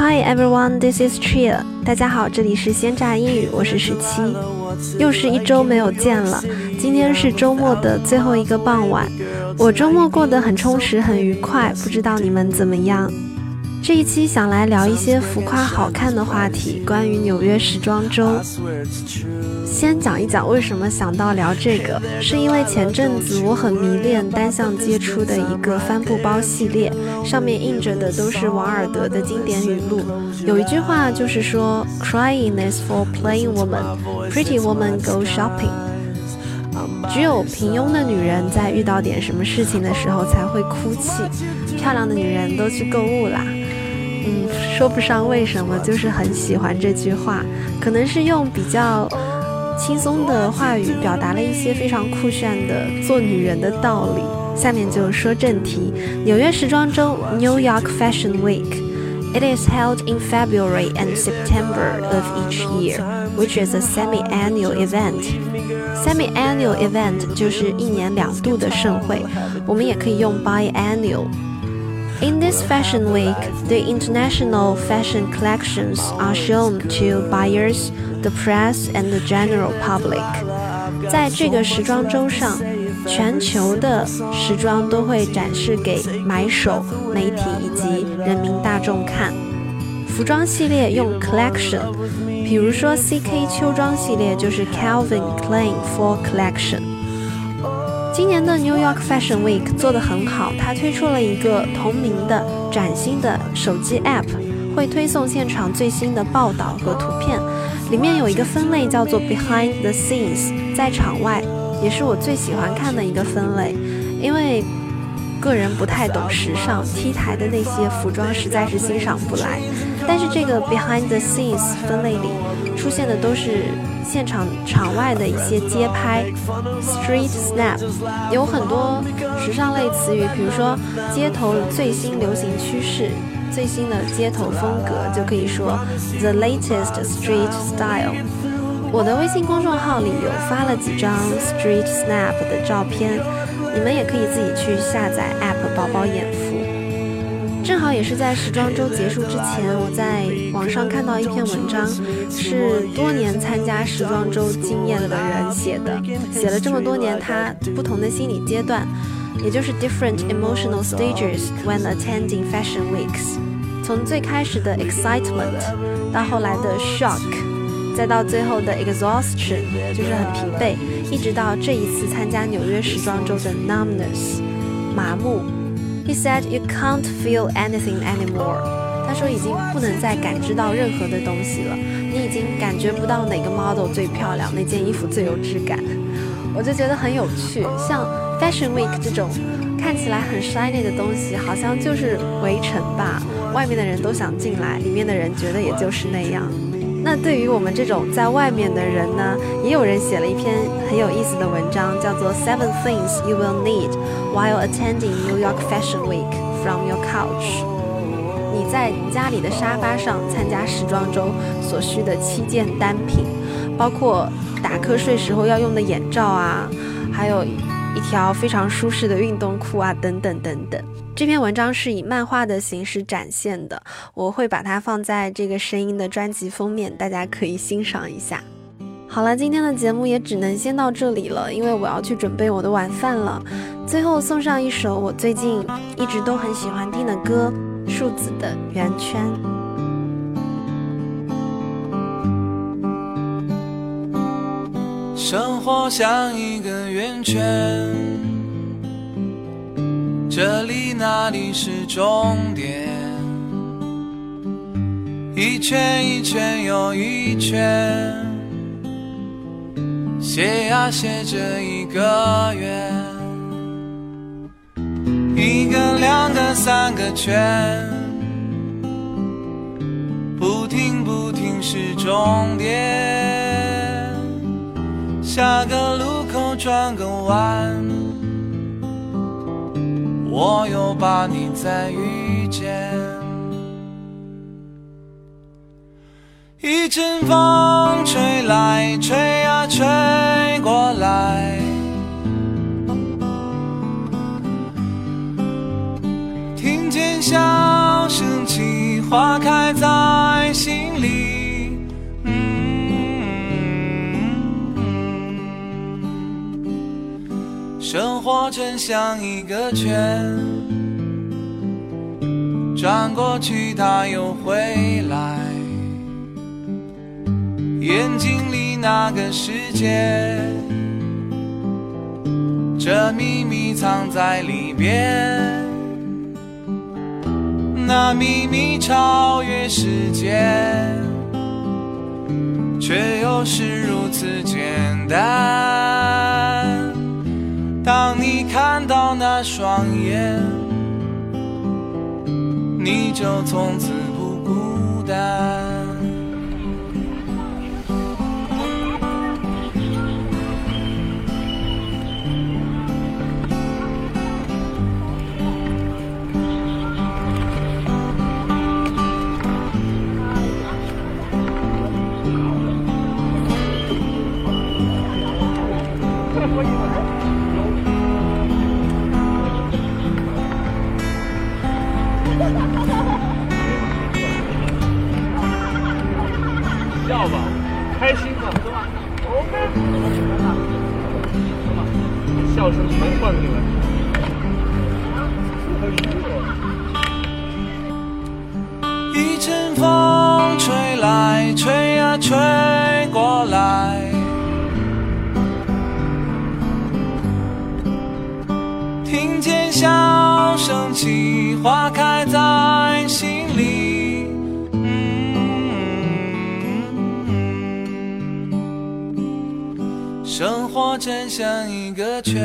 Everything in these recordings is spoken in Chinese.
Hi everyone, this is Chia. 大家好，这里是鲜榨英语，我是17。又是一周没有见了，今天是周末的最后一个傍晚。我周末过得很充实，很愉快，不知道你们怎么样？这一期想来聊一些浮夸好看的话题，关于纽约时装周。先讲一讲为什么想到聊这个，是因为前阵子我很迷恋单向街出的一个帆布包系列，上面印着的都是王尔德的经典语录。有一句话就是说 Crying is for plain woman, pretty woman go shopping。 只有平庸的女人在遇到点什么事情的时候才会哭泣，漂亮的女人都去购物啦。说不上为什么，就是很喜欢这句话，可能是用比较轻松的话语表达了一些非常酷炫的做女人的道理。下面就说正题，纽约时装周 New York Fashion Week。It is held in February and September of each year, which is a semi-annual event. Semi-annual event 就是1年2度的盛会，我们也可以用 biannual。In this fashion week, the international fashion collections are shown to buyers, the press, and the general public. 在这个时装周上，全球的时装都会展示给买手、媒体以及人民大众看。服装系列用 collection， 比如说 CK 秋装系列就是 Calvin Klein Fall Collection。今年的 New York Fashion Week 做得很好，它推出了一个同名的崭新的手机 App， 会推送现场最新的报道和图片，里面有一个分类叫做 Behind the Scenes， 在场外，也是我最喜欢看的一个分类，因为个人不太懂时尚，T台的那些服装实在是欣赏不来，但是这个 Behind the Scenes 分类里出现的都是现场场外的一些街拍 Street Snap， 有很多时尚类词语，比如说街头最新流行趋势，最新的街头风格，就可以说 The latest street style。 我的微信公众号里有发了几张 Street Snap 的照片，你们也可以自己去下载 App 饱饱眼福。正好也是在时装周结束之前，我在网上看到一篇文章，是多年参加时装周经验的人写的，写了这么多年他不同的心理阶段，也就是 different emotional stages when attending fashion weeks， 从最开始的 excitement 到后来的 shock， 再到最后的 exhaustion， 就是很疲惫，一直到这一次参加纽约时装周的 numbness， 麻木。He said you can't feel anything anymore. 他说已经不能再感知到任何的东西了，你已经感觉不到哪个 model 最漂亮，哪件衣服最有质感。我就觉得很有趣，像 Fashion Week 这种看起来很 shiny 的东西，好像就是围城吧，外面的人都想进来，里面的人觉得也就是那样。那对于我们这种在外面的人呢，也有人写了一篇很有意思的文章，叫做 Seven Things You Will Need While Attending New York Fashion Week from Your Couch。 你在家里的沙发上参加时装周所需的7件单品，包括打瞌睡时候要用的眼罩啊，还有一条非常舒适的运动裤啊，等等等等。这篇文章是以漫画的形式展现的，我会把它放在这个声音的专辑封面，大家可以欣赏一下。好了，今天的节目也只能先到这里了，因为我要去准备我的晚饭了。最后送上一首我最近一直都很喜欢听的歌，树子的圆圈。 生活像一个圆圈，这里那里是终点，一圈一圈又一圈，写呀写着一个圆，一个2个3个圈，不停不停是终点，下个路口转个弯，我又把你再遇见。一阵风吹来吹呀吹过来，听见笑声起，花开在生活真像一个圈，转过去它又回来，眼睛里那个世界，这秘密藏在里边，那秘密超越时间，却又是如此简单。当你看到那双眼，你就从此不孤单。 笑吧，开心嘛，是吧 ？OK， 笑声全放进来。 一阵风吹来，吹呀吹过来，听见笑声起，花开在心里。生活真像一个圈，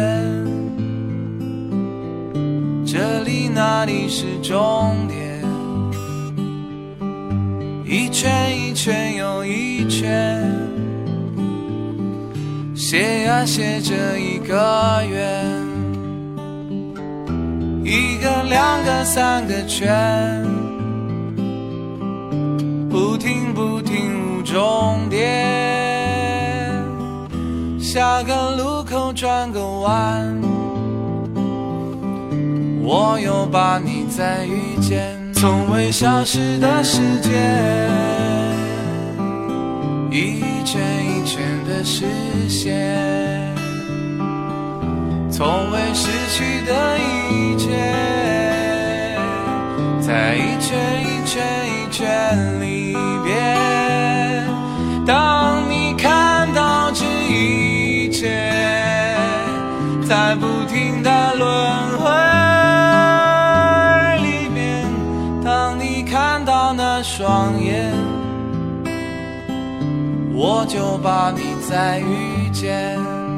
这里那里是终点，一圈一圈又一圈，写呀写着一个圆，一个两个三个圈，不停不停无终点。下个路口转个弯，我又把你再遇见。从未消失的世界，一圈一圈的实现，从未失去的一切，在一圈一圈一圈里边。当你看到这一切在不停的轮回里面，当你看到那双眼，我就把你再遇见。